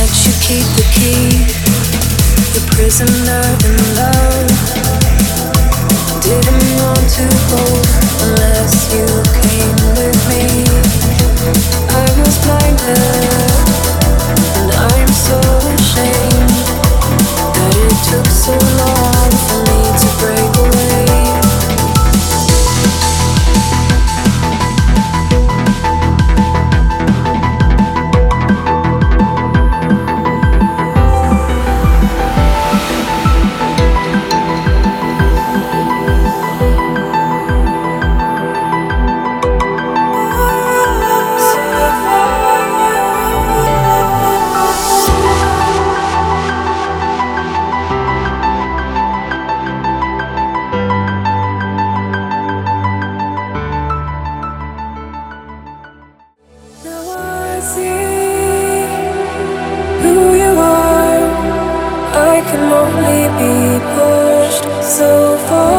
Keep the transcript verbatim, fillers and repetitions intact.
you keep the key, the prisoner in love. Didn't want to hold unless you came with me. I was blinded, and I'm so ashamed that it took so long for me to break away. I can only be pushed so far.